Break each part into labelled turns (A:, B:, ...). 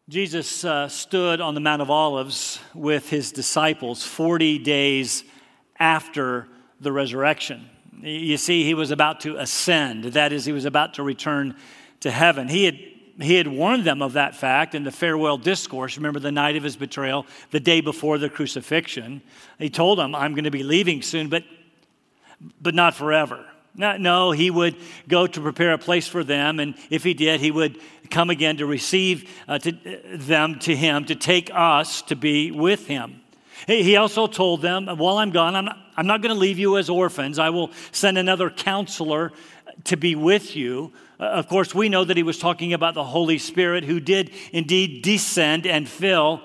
A: Jesus stood on the Mount of Olives with his disciples 40 days after the resurrection. You see, he was about to ascend. That is, he was about to return to heaven. He had warned them of that fact in the farewell discourse. Remember the night of his betrayal, the day before the crucifixion. He told them, I'm going to be leaving soon, but not forever. No, he would go to prepare a place for them, and if he did, he would come again to receive them to him, to take us to be with him. He also told them, while I'm gone, I'm not going to leave you as orphans. I will send another counselor to be with you. Of course, we know that he was talking about the Holy Spirit, who did indeed descend and fill.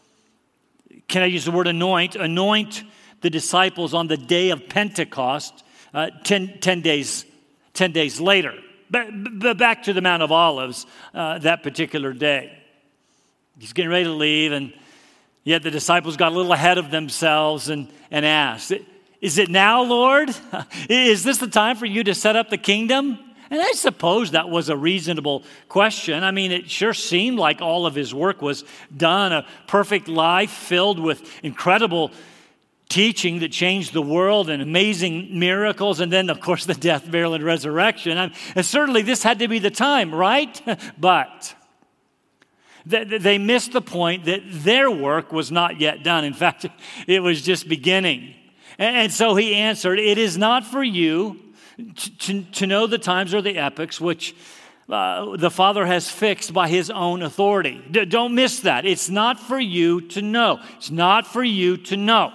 A: Can I use the word anoint? Anoint the disciples on the day of Pentecost, 10 days later. But back to the Mount of Olives that particular day. He's getting ready to leave, and yet the disciples got a little ahead of themselves and asked, is it now, Lord? Is this the time for you to set up the kingdom? And I suppose that was a reasonable question. I mean, it sure seemed like all of his work was done, a perfect life filled with incredible teaching that changed the world and amazing miracles, and then, of course, the death, burial, and resurrection. And certainly this had to be the time, right? But they missed the point that their work was not yet done. In fact, it was just beginning. And so he answered, it is not for you to know the times or the epochs which the Father has fixed by his own authority. Don't miss that. It's not for you to know. It's not for you to know.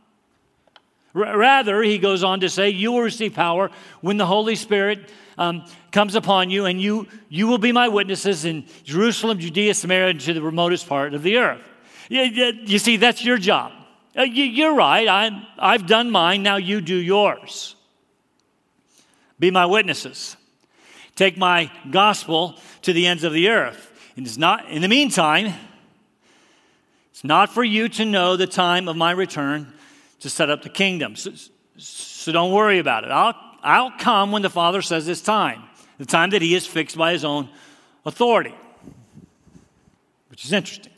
A: Rather, he goes on to say, you will receive power when the Holy Spirit comes upon you, and you will be my witnesses in Jerusalem, Judea, Samaria, and to the remotest part of the earth. You see, that's your job. You're right. I've done mine. Now you do yours. Be my witnesses. Take my gospel to the ends of the earth. And it's not, in the meantime, it's not for you to know the time of my return to set up the kingdom. So don't worry about it. I'll come when the Father says it's time. The time that he has fixed by his own authority. Which is interesting.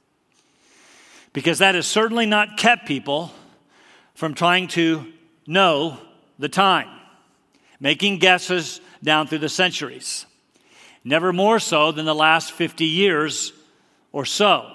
A: Because that has certainly not kept people from trying to know the time. Making guesses down through the centuries. Never more so than the last 50 years or so.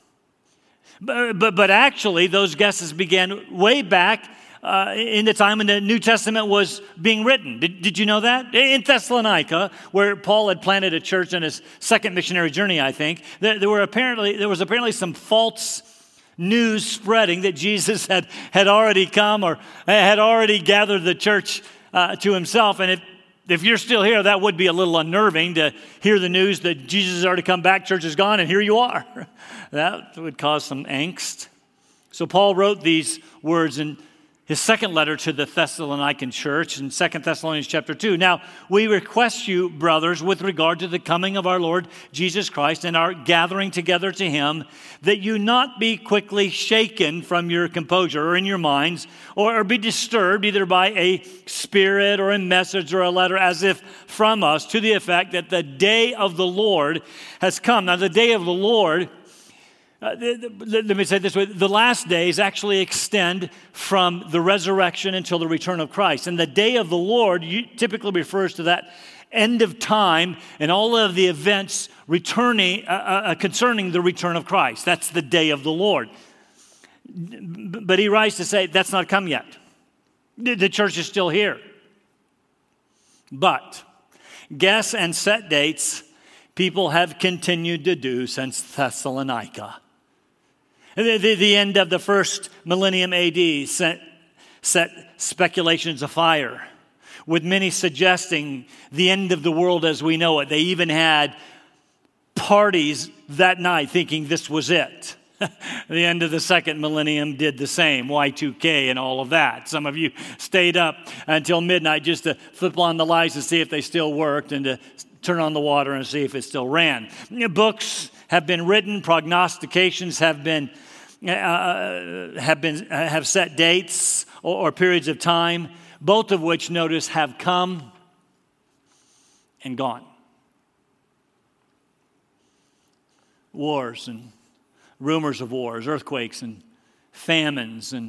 A: But actually, those guesses began way back in the time when the New Testament was being written. Did you know that? In Thessalonica, where Paul had planted a church on his second missionary journey, I think, there was apparently some false news spreading that Jesus had already come or had already gathered the church to himself. And if you're still here, that would be a little unnerving to hear the news that Jesus has already come back, church is gone, and here you are. That would cause some angst. So Paul wrote these words in his second letter to the Thessalonican church in 2 Thessalonians chapter 2. Now, we request you, brothers, with regard to the coming of our Lord Jesus Christ and our gathering together to him, that you not be quickly shaken from your composure or in your minds, or be disturbed either by a spirit or a message or a letter as if from us, to the effect that the day of the Lord has come. Now, the day of the Lord, let me say it this way, the last days actually extend from the resurrection until the return of Christ. And the day of the Lord typically refers to that end of time and all of the events returning concerning the return of Christ. That's the day of the Lord. But he writes to say that's not come yet. The church is still here. But guess and set dates people have continued to do since Thessalonica. The end of the first millennium AD set speculations afire, with many suggesting the end of the world as we know it. They even had parties that night thinking this was it. The end of the second millennium did the same, Y2K and all of that. Some of you stayed up until midnight just to flip on the lights and see if they still worked and to turn on the water and see if it still ran. Books have been written, prognostications have set dates or periods of time, both of which, notice, have come and gone. wars and rumors of wars, earthquakes and famines and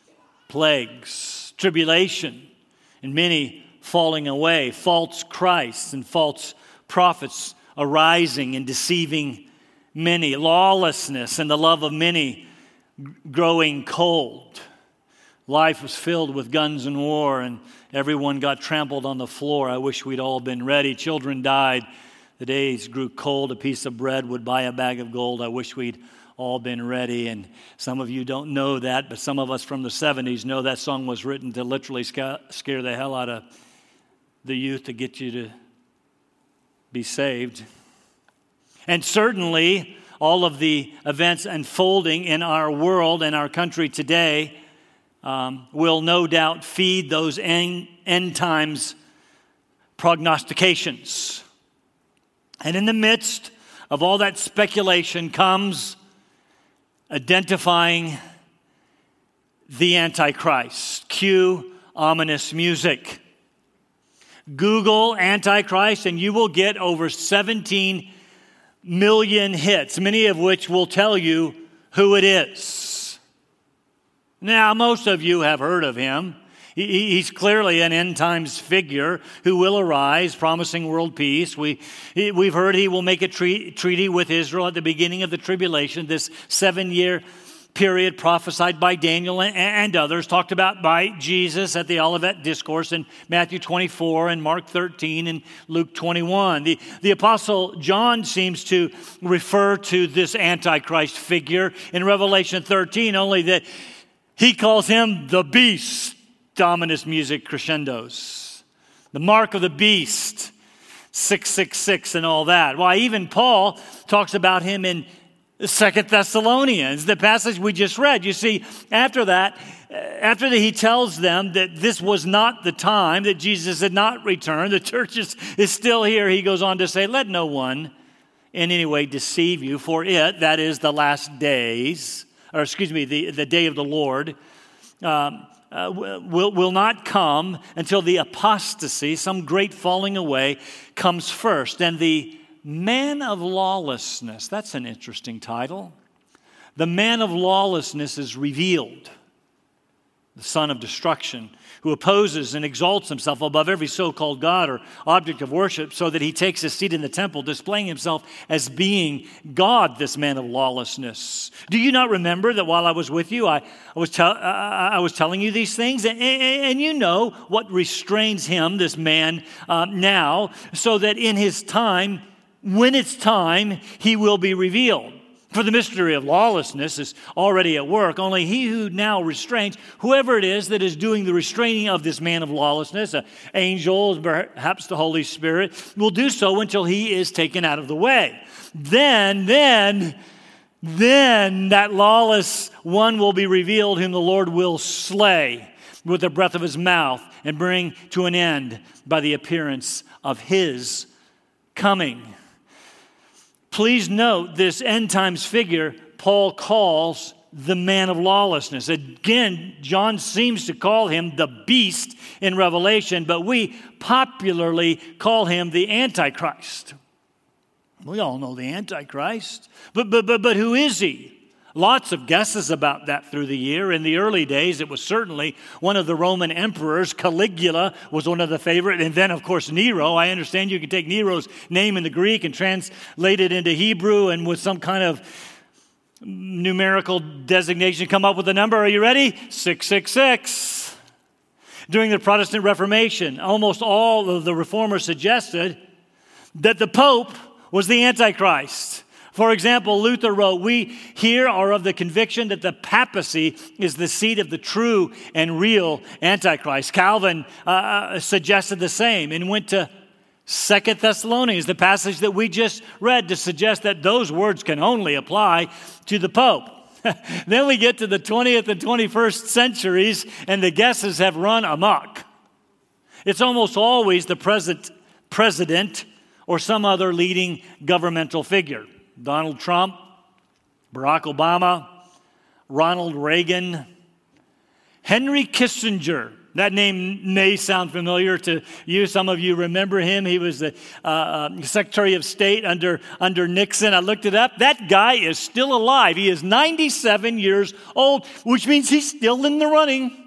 A: plagues, tribulation, and many falling away, false Christs and false prophets arising and deceiving many, lawlessness and the love of many growing cold. Life was filled with guns and war, and everyone got trampled on the floor. I wish we'd all been ready. Children died. The days grew cold. A piece of bread would buy a bag of gold. I wish we'd all been ready. And some of you don't know that, but some of us from the 70s know that song was written to literally scare the hell out of the youth to get you to be saved. And certainly, all of the events unfolding in our world and our country today will no doubt feed those end times prognostications. And in the midst of all that speculation comes identifying the Antichrist. Cue ominous music. Google Antichrist and you will get over 17 million hits, many of which will tell you who it is. Now, most of you have heard of him. He's clearly an end times figure who will arise, promising world peace. We've heard he will make a treaty with Israel at the beginning of the tribulation, this 7-year period prophesied by Daniel and others, talked about by Jesus at the Olivet Discourse in Matthew 24 and Mark 13 and Luke 21. The Apostle John seems to refer to this Antichrist figure in Revelation 13, only that he calls him the beast. Ominous music crescendos. The mark of the beast, 666 and all that. Why, even Paul talks about him in 2 Thessalonians, the passage we just read. You see, after that, he tells them that this was not the time, that Jesus had not returned, the church is still here. He goes on to say, let no one in any way deceive you, for it, that is the last days, or excuse me, the day of the Lord, will not come until the apostasy, some great falling away, comes first. And the man of lawlessness, that's an interesting title. The man of lawlessness is revealed, the son of destruction, who opposes and exalts himself above every so-called God or object of worship, so that he takes his seat in the temple, displaying himself as being God, this man of lawlessness. Do you not remember that while I was with you, I was telling you these things? And you know what restrains him, this man, now, so that in his time, when it's time, he will be revealed. For the mystery of lawlessness is already at work. Only he who now restrains, whoever it is that is doing the restraining of this man of lawlessness, angels, perhaps the Holy Spirit, will do so until he is taken out of the way. Then that lawless one will be revealed, whom the Lord will slay with the breath of his mouth and bring to an end by the appearance of his coming. Please note this end times figure Paul calls the man of lawlessness. Again, John seems to call him the beast in Revelation, but we popularly call him the Antichrist. We all know the Antichrist, but who is he? Lots of guesses about that through the year. In the early days, it was certainly one of the Roman emperors. Caligula was one of the favorite. And then, of course, Nero. I understand you can take Nero's name in the Greek and translate it into Hebrew, and with some kind of numerical designation, come up with a number. Are you ready? 666. During the Protestant Reformation, almost all of the reformers suggested that the Pope was the Antichrist. For example, Luther wrote, "We here are of the conviction that the papacy is the seat of the true and real Antichrist." Calvin suggested the same and went to 2 Thessalonians, the passage that we just read, to suggest that those words can only apply to the Pope. Then we get to the 20th and 21st centuries, and the guesses have run amok. It's almost always the present president or some other leading governmental figure. Donald Trump, Barack Obama, Ronald Reagan, Henry Kissinger. That name may sound familiar to you. Some of you remember him. He was the Secretary of State under Nixon. I looked it up. That guy is still alive. He is 97 years old, which means he's still in the running.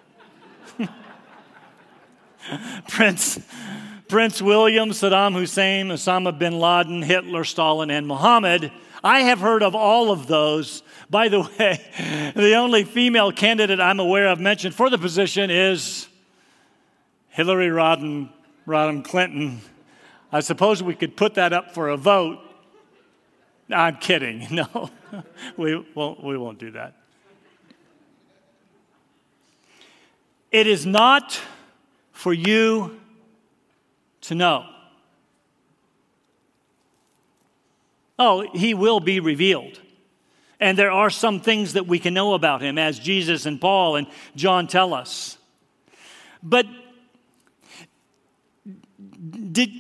A: Prince William, Saddam Hussein, Osama bin Laden, Hitler, Stalin, and Muhammad. I have heard of all of those. By the way, the only female candidate I'm aware of mentioned for the position is Hillary Rodham Clinton. I suppose we could put that up for a vote. I'm kidding. No, we won't do that. It is not for you to know. Oh, he will be revealed. And there are some things that we can know about him, as Jesus and Paul and John tell us. But did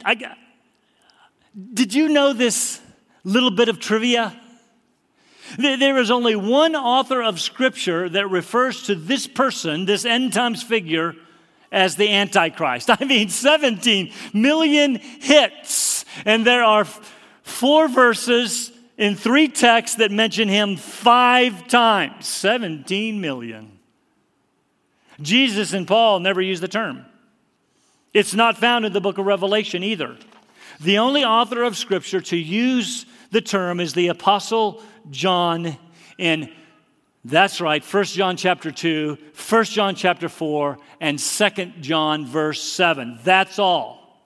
A: you know this little bit of trivia? There is only one author of Scripture that refers to this person, this end times figure, as the Antichrist. I mean, 17 million hits. And there are 4 verses in 3 texts that mention him 5 times. 17 million. Jesus and Paul never use the term. It's not found in the book of Revelation either. The only author of Scripture to use the term is the Apostle John in, that's right, 1 John chapter 2, 1 John chapter 4, and 2 John verse 7. That's all.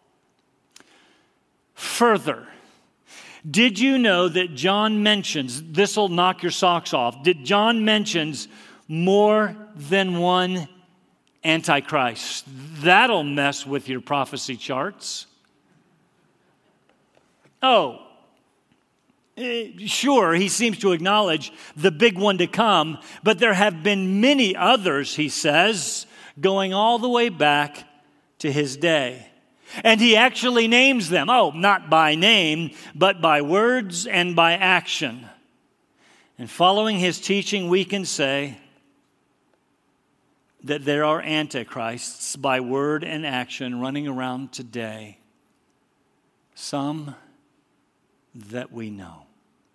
A: Further, did you know that John mentions, this will knock your socks off, that John mentions more than one Antichrist? That'll mess with your prophecy charts. Oh, sure, he seems to acknowledge the big one to come, but there have been many others, he says, going all the way back to his day. And he actually names them. Oh, not by name, but by words and by action. And following his teaching, we can say that there are antichrists by word and action running around today. Some that we know.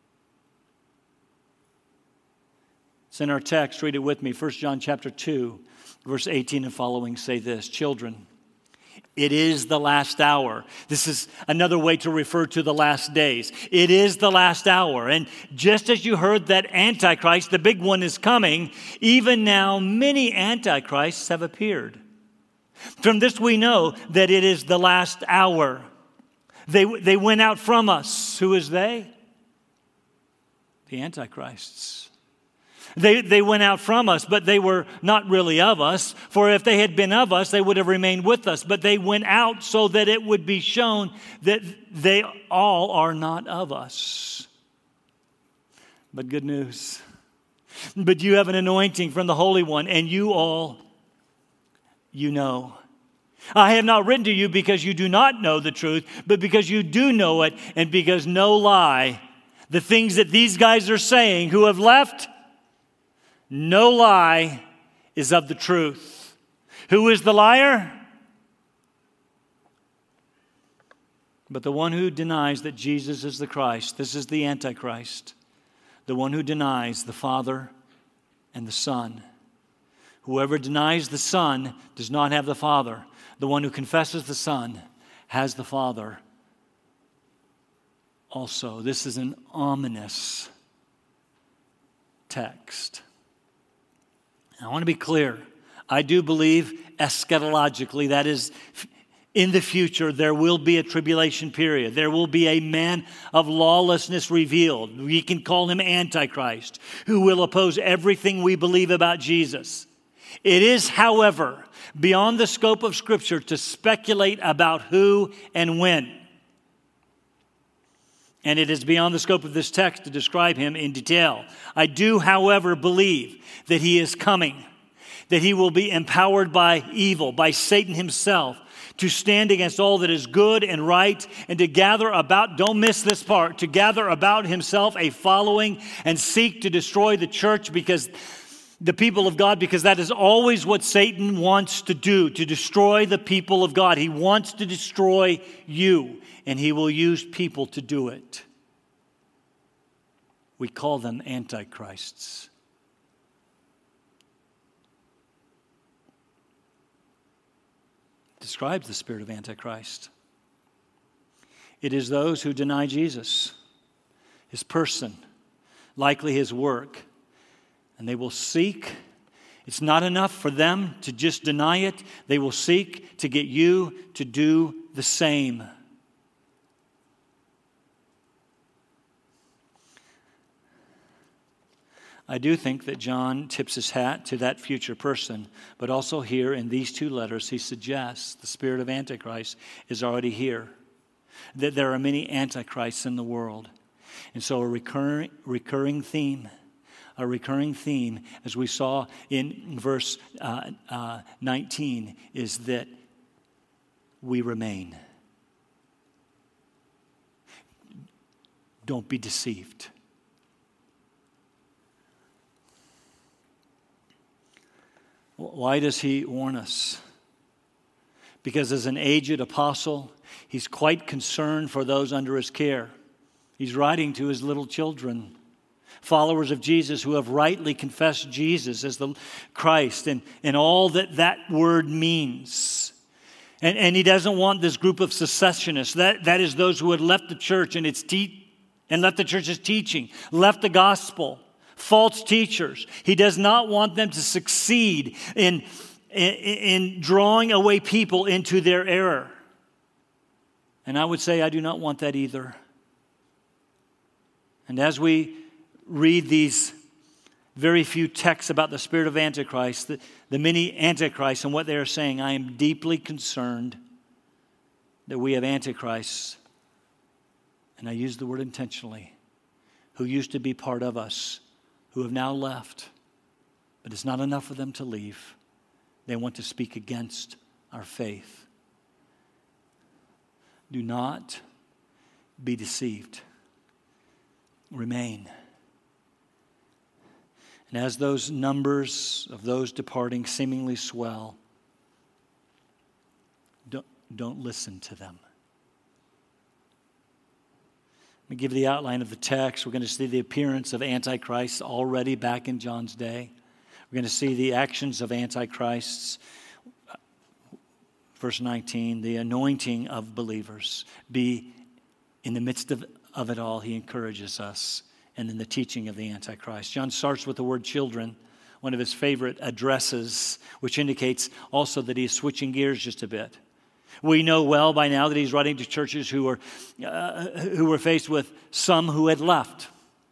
A: It's in our text. Read it with me. 1 John chapter 2, verse 18 and following say this: Children, it is the last hour. This is another way to refer to the last days. It is the last hour. And just as you heard that Antichrist, the big one, is coming, even now many Antichrists have appeared. From this we know that it is the last hour. They went out from us. Who is they? The Antichrists. They went out from us, but they were not really of us. For if they had been of us, they would have remained with us. But they went out so that it would be shown that they all are not of us. But good news. But you have an anointing from the Holy One, and you all, you know. I have not written to you because you do not know the truth, but because you do know it, and because no lie, the things that these guys are saying who have left, no lie is of the truth. Who is the liar? But the one who denies that Jesus is the Christ. This is the Antichrist. The one who denies the Father and the Son. Whoever denies the Son does not have the Father. The one who confesses the Son has the Father also. This is an ominous text. I want to be clear. I do believe eschatologically, that is, in the future, there will be a tribulation period. There will be a man of lawlessness revealed. We can call him Antichrist, who will oppose everything we believe about Jesus. It is, however, beyond the scope of Scripture to speculate about who and when. And it is beyond the scope of this text to describe him in detail. I do, however, believe that he is coming, that he will be empowered by evil, by Satan himself, to stand against all that is good and right, and to gather about, don't miss this part, to gather about himself a following and seek to destroy the church, because the people of God, because that is always what Satan wants to do, to destroy the people of God. He wants to destroy you, and he will use people to do it. We call them antichrists. It describes the spirit of Antichrist. It is those who deny Jesus, his person, likely his work. And they will seek, it's not enough for them to just deny it. They will seek to get you to do the same. I do think that John tips his hat to that future person, but also here in these two letters, he suggests the spirit of Antichrist is already here, that there are many antichrists in the world. And so a recurring theme, as we saw in verse 19, is that we remain. Don't be deceived. Why does he warn us? Because as an aged apostle, he's quite concerned for those under his care. He's writing to his little children, followers of Jesus who have rightly confessed Jesus as the Christ and all that word means. And he doesn't want this group of secessionists. That is those who had left the church and left the church's teaching, left the gospel, false teachers. He does not want them to succeed in drawing away people into their error. And I would say I do not want that either. And as we read these very few texts about the spirit of Antichrist, the many antichrists and what they are saying, I am deeply concerned that we have antichrists, and I use the word intentionally, who used to be part of us, who have now left. But it's not enough for them to leave. They want to speak against our faith. Do not be deceived. Remain. And as those numbers of those departing seemingly swell, don't listen to them. Let me give you the outline of the text. We're going to see the appearance of Antichrist already back in John's day. We're going to see the actions of Antichrists. Verse 19, the anointing of believers. Be in the midst of it all, he encourages us. And then the teaching of the Antichrist. John starts with the word children, one of his favorite addresses, which indicates also that he is switching gears just a bit. We know well by now that he's writing to churches who were faced with some who had left.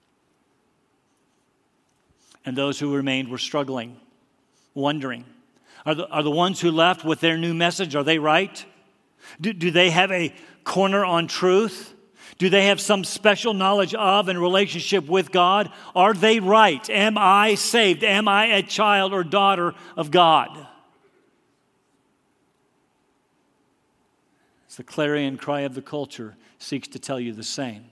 A: And those who remained were struggling, wondering. Are the ones who left with their new message, are they right? Do they have a corner on truth? Do they have some special knowledge of and relationship with God? Are they right? Am I saved? Am I a child or daughter of God? It's the clarion cry of the culture seeks to tell you the same.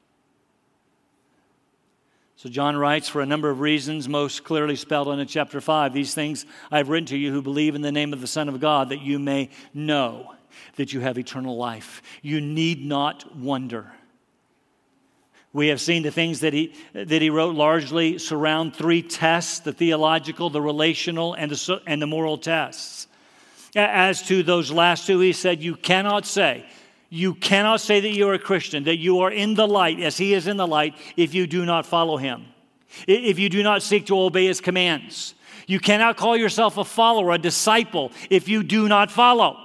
A: So John writes, for a number of reasons, most clearly spelled out in chapter 5, these things I have written to you who believe in the name of the Son of God, that you may know that you have eternal life. You need not wonder. We have seen the things that he wrote largely surround three tests: the theological, the relational, and the moral tests. As to those last two, he said, you cannot say that you are a Christian, that you are in the light as he is in the light, if you do not follow him, if you do not seek to obey his commands. You cannot call yourself a follower, a disciple, if you do not follow.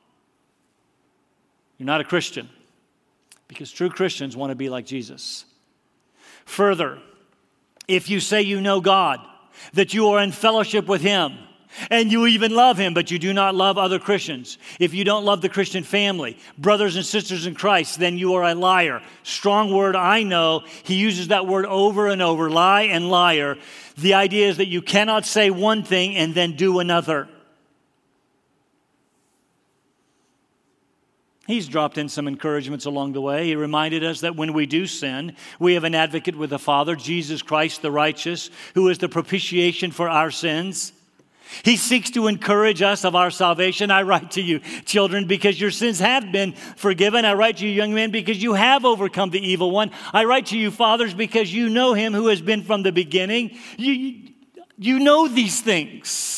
A: You're not a Christian, because true Christians want to be like Jesus. Further, if you say you know God, that you are in fellowship with him, and you even love him, but you do not love other Christians, if you don't love the Christian family, brothers and sisters in Christ, then you are a liar. Strong word, I know. He uses that word over and over, lie and liar. The idea is that you cannot say one thing and then do another. He's dropped in some encouragements along the way. He reminded us that when we do sin, we have an advocate with the Father, Jesus Christ the righteous, who is the propitiation for our sins. He seeks to encourage us of our salvation. I write to you, children, because your sins have been forgiven. I write to you, young men, because you have overcome the evil one. I write to you, fathers, because you know him who has been from the beginning. You know these things.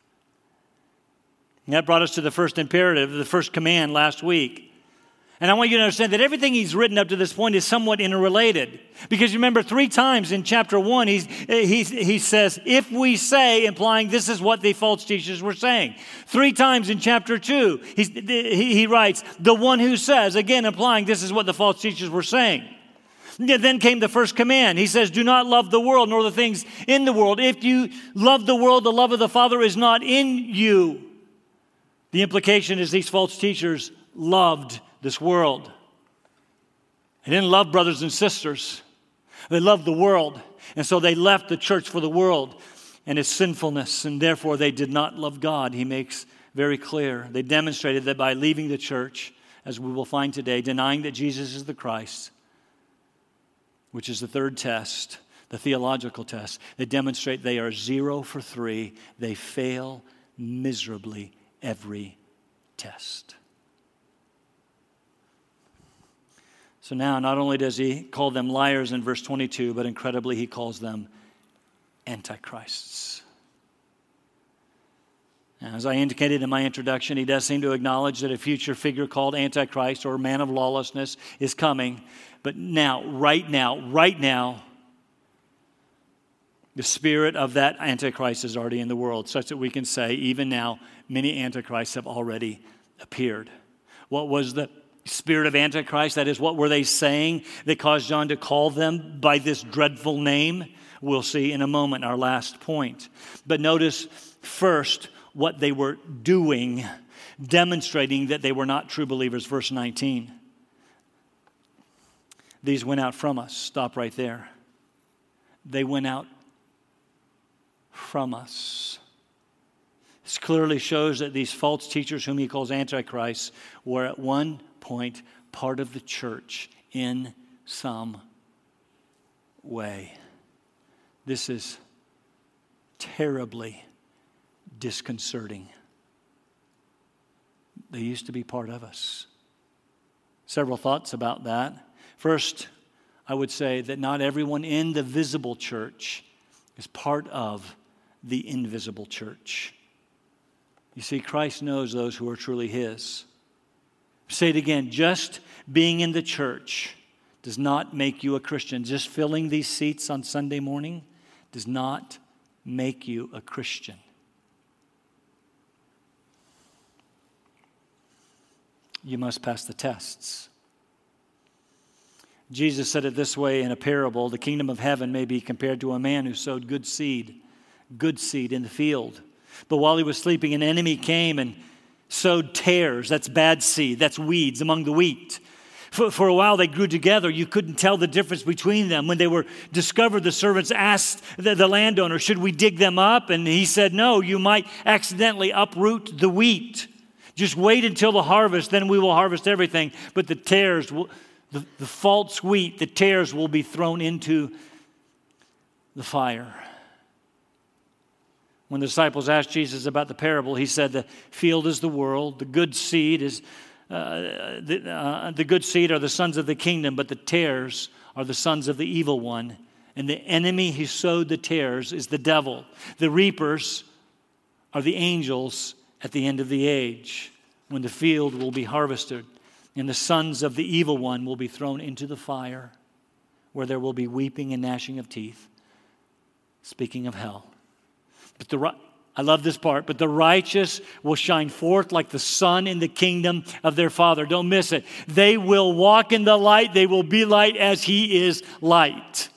A: And that brought us to the first imperative, the first command last week. And I want you to understand that everything he's written up to this point is somewhat interrelated. Because remember, 3 times in chapter 1, he says, if we say, implying this is what the false teachers were saying. 3 times in chapter 2, he writes, the one who says, again implying this is what the false teachers were saying. Then came the first command. He says, do not love the world nor the things in the world. If you love the world, the love of the Father is not in you. The implication is these false teachers loved this world. They didn't love brothers and sisters. They loved the world. And so they left the church for the world and its sinfulness, and therefore they did not love God. He makes very clear. They demonstrated that by leaving the church, as we will find today, denying that Jesus is the Christ, which is the third test, the theological test. They demonstrate they are 0 for 3. They fail miserably every test. So now, not only does he call them liars in verse 22, but incredibly he calls them antichrists. As I indicated in my introduction, he does seem to acknowledge that a future figure called Antichrist or man of lawlessness is coming. But now, right now, the spirit of that Antichrist is already in the world, such that we can say, even now, many Antichrists have already appeared. What was the spirit of Antichrist? That is, what were they saying that caused John to call them by this dreadful name? We'll see in a moment, our last point. But notice first what they were doing, demonstrating that they were not true believers. Verse 19. These went out from us. Stop right there. They went out from us. This clearly shows that these false teachers, whom he calls antichrists, were at one point part of the church in some way. This is terribly disconcerting. They used to be part of us. Several thoughts about that. First, I would say that not everyone in the visible church is part of the invisible church. You see, Christ knows those who are truly his. Say it again, just being in the church does not make you a Christian. Just filling these seats on Sunday morning does not make you a Christian. You must pass the tests. Jesus said it this way in a parable: the kingdom of heaven may be compared to a man who sowed good seed in the field. But while he was sleeping, an enemy came and sowed tares. That's bad seed. That's weeds among the wheat. For a while they grew together. You couldn't tell the difference between them. When they were discovered, the servants asked the landowner, should we dig them up? And he said, no, you might accidentally uproot the wheat. Just wait until the harvest, then we will harvest everything. But the tares, the false wheat, the tares will be thrown into the fire. When the disciples asked Jesus about the parable, he said, the field is the world, the good seed is the good seed are the sons of the kingdom, but the tares are the sons of the evil one. And the enemy who sowed the tares is the devil. The reapers are the angels at the end of the age, when the field will be harvested, and the sons of the evil one will be thrown into the fire, where there will be weeping and gnashing of teeth. Speaking of hell. But I love this part. But the righteous will shine forth like the sun in the kingdom of their Father. Don't miss it. They will walk in the light. They will be light as he is light.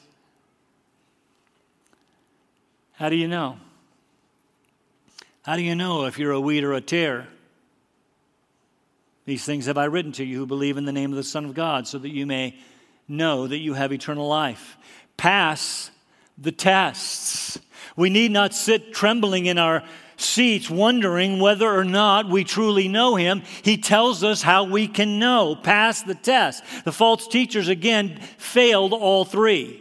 A: How do you know? How do you know if you're a wheat or a tare? These things have I written to you who believe in the name of the Son of God, so that you may know that you have eternal life. Pass the tests. We need not sit trembling in our seats wondering whether or not we truly know him, he tells us how we can know, pass the test. The false teachers, again, failed all three.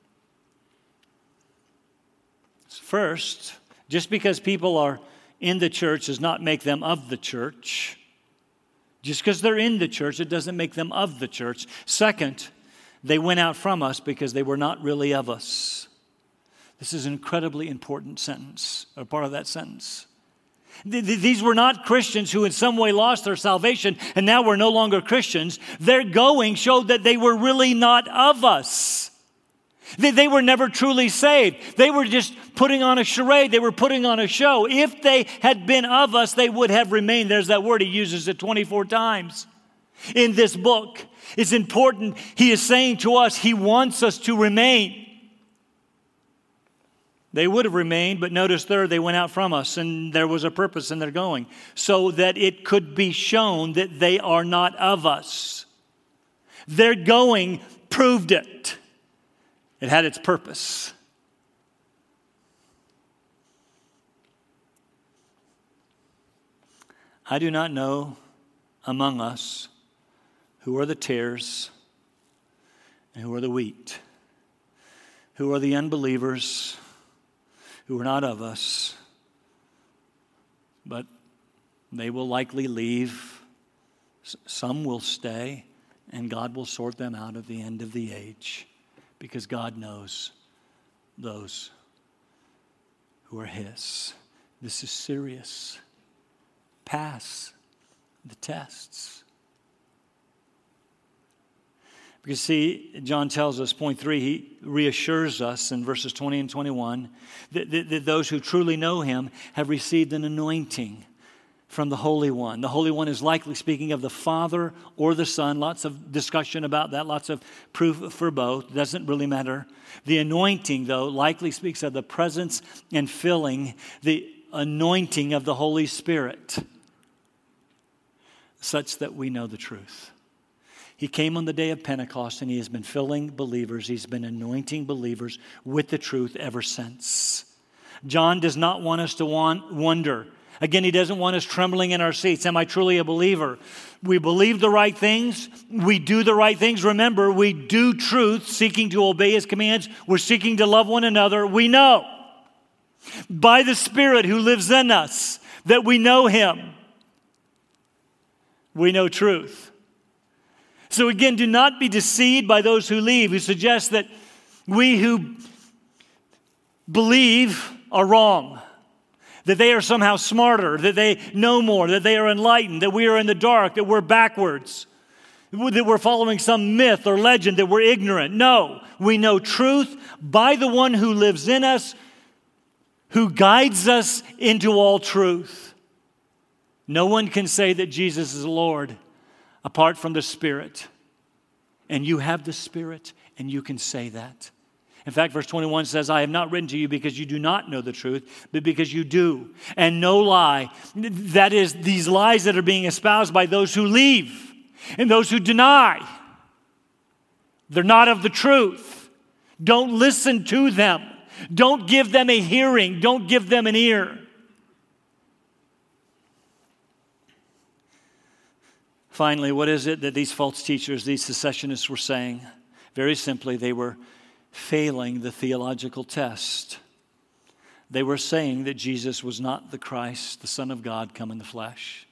A: First, just because people are in the church does not make them of the church. Just because they're in the church, it doesn't make them of the church. Second, they went out from us because they were not really of us. This is an incredibly important sentence, or part of that sentence. These were not Christians who in some way lost their salvation and now were no longer Christians. Their going showed that they were really not of us. They were never truly saved. They were just putting on a charade. They were putting on a show. If they had been of us, they would have remained. There's that word. He uses it 24 times in this book. It's important. He is saying to us, he wants us to remain. They would have remained, but notice third, they went out from us, and there was a purpose in their going, so that it could be shown that they are not of us. Their going proved it. It had its purpose. I do not know among us who are the tares and who are the wheat, who are the unbelievers who are not of us, but they will likely leave. Some will stay, and God will sort them out at the end of the age, because God knows those who are his. This is serious. Pass the tests. Because see, John tells us, point 3, he reassures us in verses 20 and 21 that those who truly know him have received an anointing from the Holy One. The Holy One is likely speaking of the Father or the Son. Lots of discussion about that, lots of proof for both. Doesn't really matter. The anointing, though, likely speaks of the presence and filling, the anointing of the Holy Spirit, such that we know the truth. He came on the day of Pentecost, and he has been filling believers. He's been anointing believers with the truth ever since. John does not want us to wonder. Again, he doesn't want us trembling in our seats. Am I truly a believer? We believe the right things. We do the right things. Remember, we do truth, seeking to obey his commands. We're seeking to love one another. We know by the Spirit who lives in us that we know him. We know truth. So again, do not be deceived by those who leave, who suggest that we who believe are wrong, that they are somehow smarter, that they know more, that they are enlightened, that we are in the dark, that we're backwards, that we're following some myth or legend, that we're ignorant. No, we know truth by the one who lives in us, who guides us into all truth. No one can say that Jesus is Lord apart from the Spirit. And you have the Spirit, and you can say that. In fact, verse 21 says, I have not written to you because you do not know the truth, but because you do. And no lie. That is, these lies that are being espoused by those who leave and those who deny. They're not of the truth. Don't listen to them. Don't give them a hearing. Don't give them an ear. Finally, what is it that these false teachers, these secessionists were saying? Very simply, they were failing the theological test. They were saying that Jesus was not the Christ, the Son of God, come in the flesh.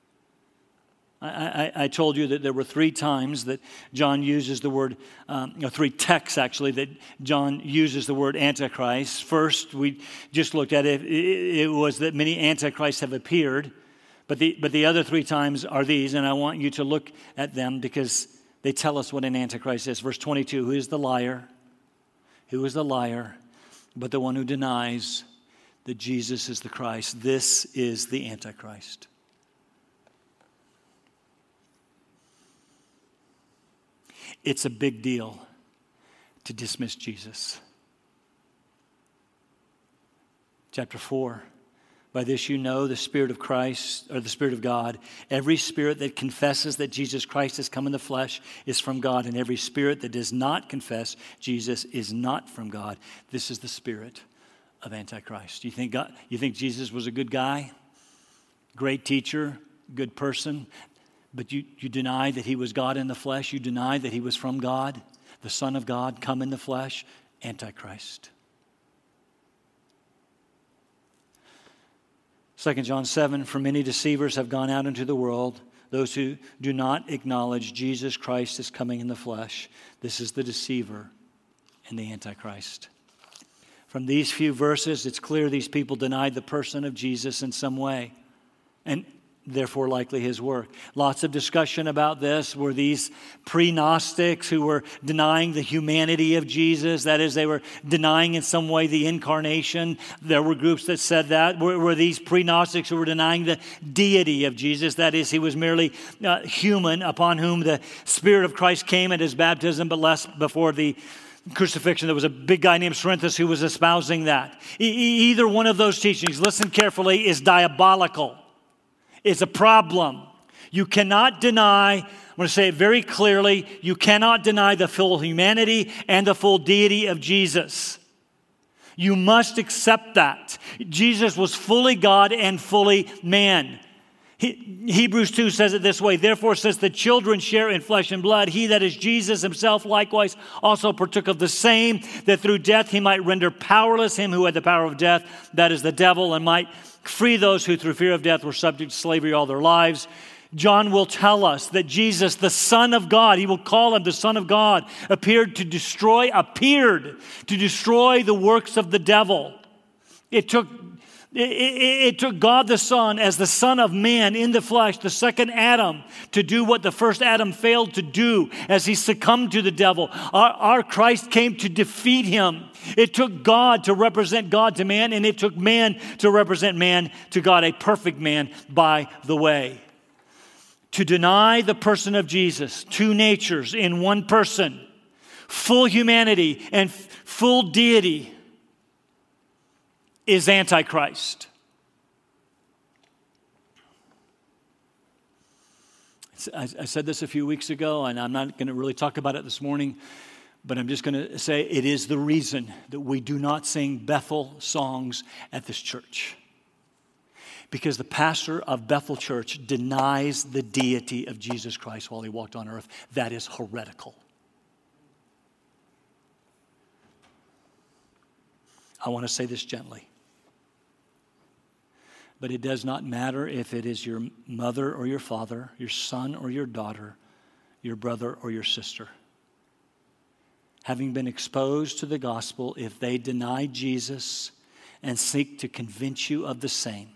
A: I told you that there were 3 times that John uses the word, 3 texts actually, that John uses the word Antichrist. First, we just looked at it. It was that many Antichrists have appeared. But the other 3 times are these, and I want you to look at them because they tell us what an Antichrist is. Verse 22, who is the liar? Who is the liar? But the one who denies that Jesus is the Christ. This is the Antichrist. It's a big deal to dismiss Jesus. Chapter 4. By this you know the Spirit of Christ, or the Spirit of God. Every spirit that confesses that Jesus Christ has come in the flesh is from God, and every spirit that does not confess Jesus is not from God. This is the spirit of Antichrist. You think Jesus was a good guy, great teacher, good person, but you deny that he was God in the flesh? You deny that he was from God, the Son of God, come in the flesh? Antichrist. 2 John 7, for many deceivers have gone out into the world, those who do not acknowledge Jesus Christ is coming in the flesh. This is the deceiver and the Antichrist. From these few verses, it's clear these people denied the person of Jesus in some way, and therefore likely his work. Lots of discussion about this. Were these pre-Gnostics who were denying the humanity of Jesus? That is, they were denying in some way the incarnation. There were groups that said that. Were these pre-Gnostics who were denying the deity of Jesus? That is, he was merely human, upon whom the Spirit of Christ came at his baptism, but less before the crucifixion. There was a big guy named Cerinthus who was espousing that. Either one of those teachings, listen carefully, is diabolical. It's a problem. You cannot deny, I'm going to say it very clearly, you cannot deny the full humanity and the full deity of Jesus. You must accept that. Jesus was fully God and fully man. Hebrews 2 says it this way, therefore, since the children share in flesh and blood, he that is Jesus himself likewise also partook of the same, that through death he might render powerless him who had the power of death, that is the devil, and might free those who through fear of death were subject to slavery all their lives. John will tell us that Jesus, the Son of God, he will call him the Son of God, appeared to destroy the works of the devil. It took God the Son as the Son of Man in the flesh, the second Adam, to do what the first Adam failed to do as he succumbed to the devil. Our Christ came to defeat him. It took God to represent God to man, and it took man to represent man to God, a perfect man, by the way. To deny the person of Jesus, two natures in one person, full humanity and full deity, is Antichrist. I said this a few weeks ago, and I'm not going to really talk about it this morning, but I'm just going to say it is the reason that we do not sing Bethel songs at this church. Because the pastor of Bethel Church denies the deity of Jesus Christ while he walked on earth. That is heretical. I want to say this gently. But it does not matter if it is your mother or your father, your son or your daughter, your brother or your sister. Having been exposed to the gospel, if they deny Jesus and seek to convince you of the same,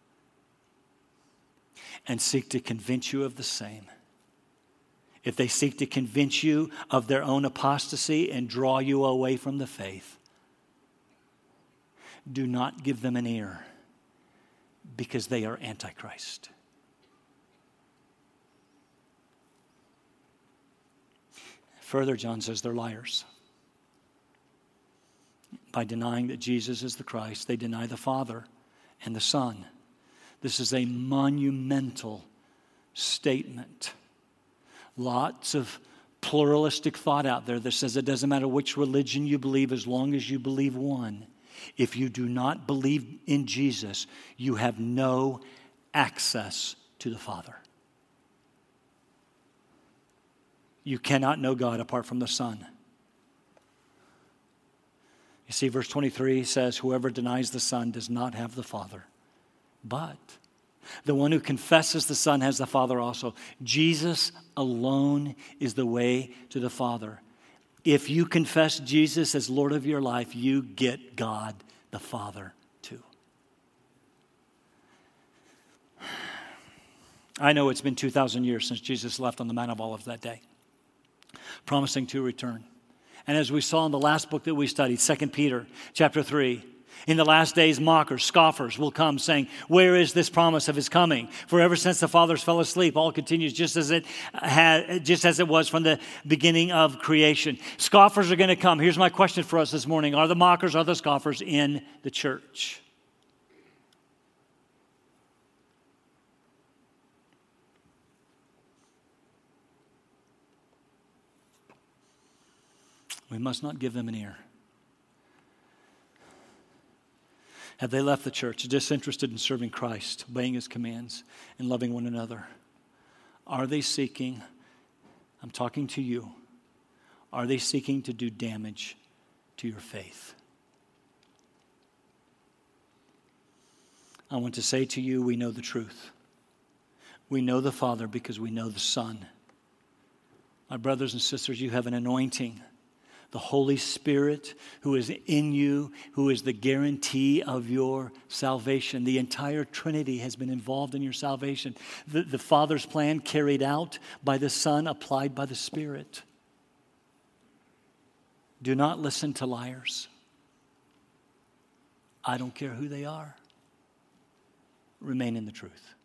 A: if they seek to convince you of their own apostasy and draw you away from the faith, do not give them an ear, because they are Antichrist. Further, John says they're liars. By denying that Jesus is the Christ, they deny the Father and the Son. This is a monumental statement. Lots of pluralistic thought out there that says it doesn't matter which religion you believe as long as you believe one. If you do not believe in Jesus, you have no access to the Father. You cannot know God apart from the Son. You see, verse 23 says, whoever denies the Son does not have the Father. But the one who confesses the Son has the Father also. Jesus alone is the way to the Father. If you confess Jesus as Lord of your life, you get God the Father too. I know it's been 2,000 years since Jesus left on the Mount of Olives that day, promising to return. And as we saw in the last book that we studied, 2 Peter chapter 3, in the last days, mockers, scoffers will come saying, where is this promise of his coming? For ever since the fathers fell asleep, all continues just as it was from the beginning of creation. Scoffers are going to come. Here's my question for us this morning. Are the mockers, are the scoffers in the church? We must not give them an ear. Have they left the church disinterested in serving Christ, obeying his commands, and loving one another? Are they seeking, I'm talking to you, are they seeking to do damage to your faith? I want to say to you, we know the truth. We know the Father because we know the Son. My brothers and sisters, you have an anointing. The Holy Spirit who is in you, who is the guarantee of your salvation. The entire Trinity has been involved in your salvation. The Father's plan carried out by the Son, applied by the Spirit. Do not listen to liars. I don't care who they are. Remain in the truth.